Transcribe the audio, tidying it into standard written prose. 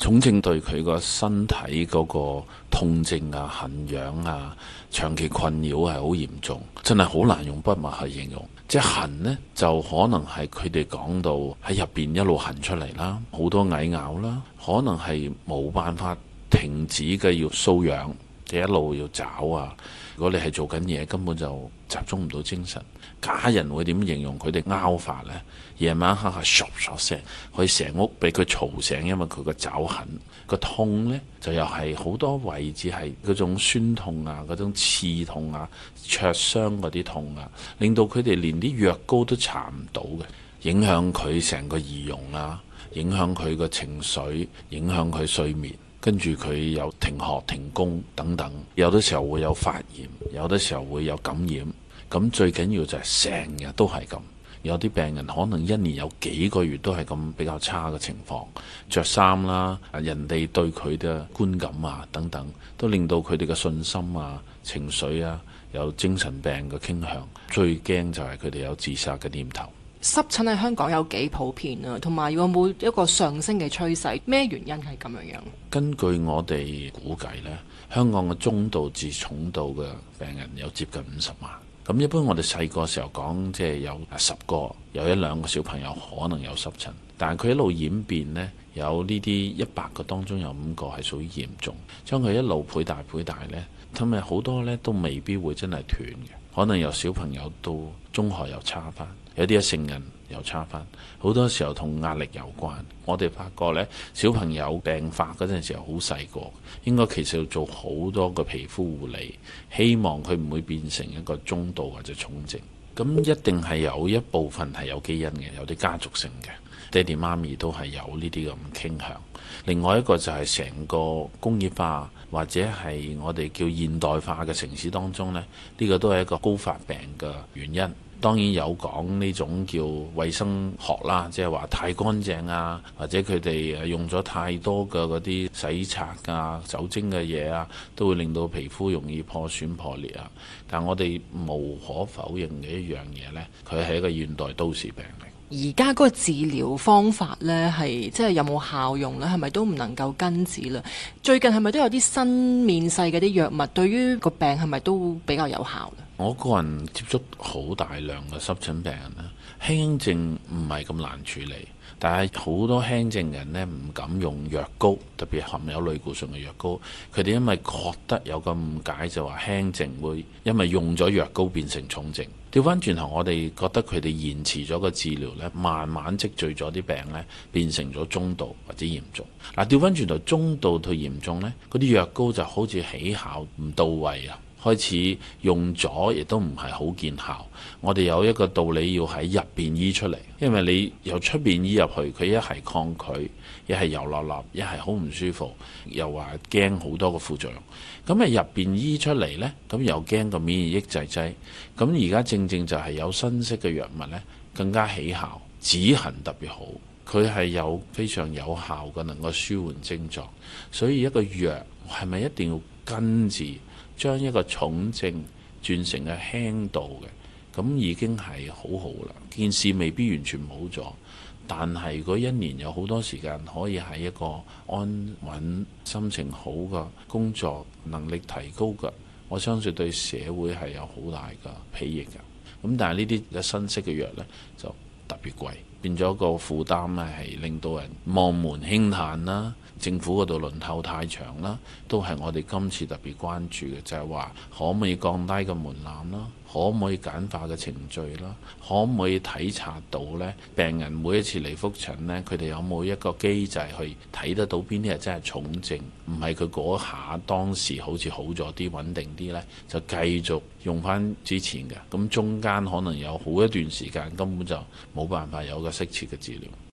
重症對佢個身體嗰個痛症啊、痕癢啊、長期困擾係好嚴重，真係好難用筆墨去形容。即係痕呢，就可能係佢哋講到喺入邊一路痕出嚟啦，好多蟻咬啦，可能係冇辦法停止嘅，要瘙癢，即係一路要找啊。如果你係做緊嘢，根本就集中唔到精神。家人會點形容佢哋拗法呢？夜晚黑係唰唰聲，可以成屋俾佢嘈醒，因為佢個爪痕。個痛呢，就又係好多位置係嗰種酸痛啊，嗰種刺痛啊、灼傷嗰啲痛啊，令到佢哋連啲藥膏都搽唔到嘅，影響佢成個儀容啊，影響佢個情緒，影響佢睡眠。跟住佢有停學停工等等，有啲時候會有發炎，有啲時候會有感染。咁最緊要就係成日都係咁。有啲病人可能一年有幾個月都係咁比較差嘅情況，着衫啦，人哋對佢嘅觀感啊等等，都令到佢哋嘅信心啊、情緒啊有精神病嘅傾向。最驚就係佢哋有自殺嘅念頭。 濕疹喺香港有幾普遍啊？同埋有冇一個上升嘅趨勢？咩原因係咁樣？ 根據我哋估計呢，香港嘅中度至重度嘅病人有接近50萬。咁一般我哋細個時候講，即係有10個，有1、2個小朋友可能有濕疹，但係佢一路演變呢，有呢啲100個當中有5個係屬於嚴重，將佢一路倍大呢，咁咪好多呢都未必會真係斷嘅，可能由小朋友到中學又差返。有啲成人又差返，好多時候同壓力有關。我哋發覺呢，小朋友病發嗰陣時候好細個，應該其實要做好多個皮膚護理，希望佢唔會變成一個中度或者重症。咁一定係有一部分係有基因嘅，有啲家族性嘅，爹哋媽咪都係有呢啲咁傾向。另外一個就係成個工業化或者係我哋叫現代化嘅城市當中呢，呢個都係一個高發病嘅原因。當然有講呢種叫衛生學啦，即係話太乾淨啊，或者佢哋用咗太多嘅嗰啲洗刷啊、酒精嘅嘢啊，都會令到皮膚容易破損破裂啊。但我哋無可否認嘅一樣嘢呢，佢係一個現代都市病嚟。 而家嗰個治療方法呢，係即係有冇效用呢？係咪都唔能夠根治啦？最近係咪都有啲新面世嘅啲藥物，對於個病係咪都比較有效呢？ 我個人接觸好大量嘅濕疹病人啦，輕症唔係咁難處理，但係好多輕症人呢唔敢用藥膏，特別含有類固醇嘅藥膏。佢哋因為覺得有個誤解，就話輕症會因為用咗藥膏變成重症。調翻轉頭，我哋覺得佢哋延遲咗個治療呢，慢慢積聚咗啲病呢，變成咗中度或者嚴重。嗱，調翻轉頭，中度到嚴重呢，嗰啲藥膏就好似起效唔到位啊，開始用咗亦都唔係好見效。我哋有一個道理要喺入邊醫出嚟，因為你由出邊醫入去，佢一係抗拒，一係油立立，一係好唔舒服，又話驚好多個副作用。咁啊入邊醫出嚟呢，咁又驚個免疫抑制劑。咁而家正正就係有新式嘅藥物呢，更加起效，止痕特別好，佢係有非常有效嘅能夠舒緩症狀。所以一個藥係咪一定要根治，將一個重症轉成嘅輕度嘅，咁已經係好好啦。件事未必完全冇咗，但係如果一年有好多時間可以喺一個安穩、心情好嘅工作能力提高嘅，我相信對社會係有好大嘅裨益嘅。咁但係呢啲嘅新式嘅藥呢，就特別貴，變咗個負擔呢係令到人望門輕嘆啦。政府嗰度輪候太長啦，都係我哋今次特別關注嘅，就係話可唔可以降低個門檻啦？可唔可以簡化嘅程序啦？可唔可以體察到呢？病人每一次嚟覆診呢，佢哋有冇一個機制去睇得到邊啲係真係重症？唔係佢嗰下當時好似好咗啲、穩定啲呢，就繼續用翻之前嘅。咁中間可能有好一段時間根本就冇辦法有個適切嘅治療。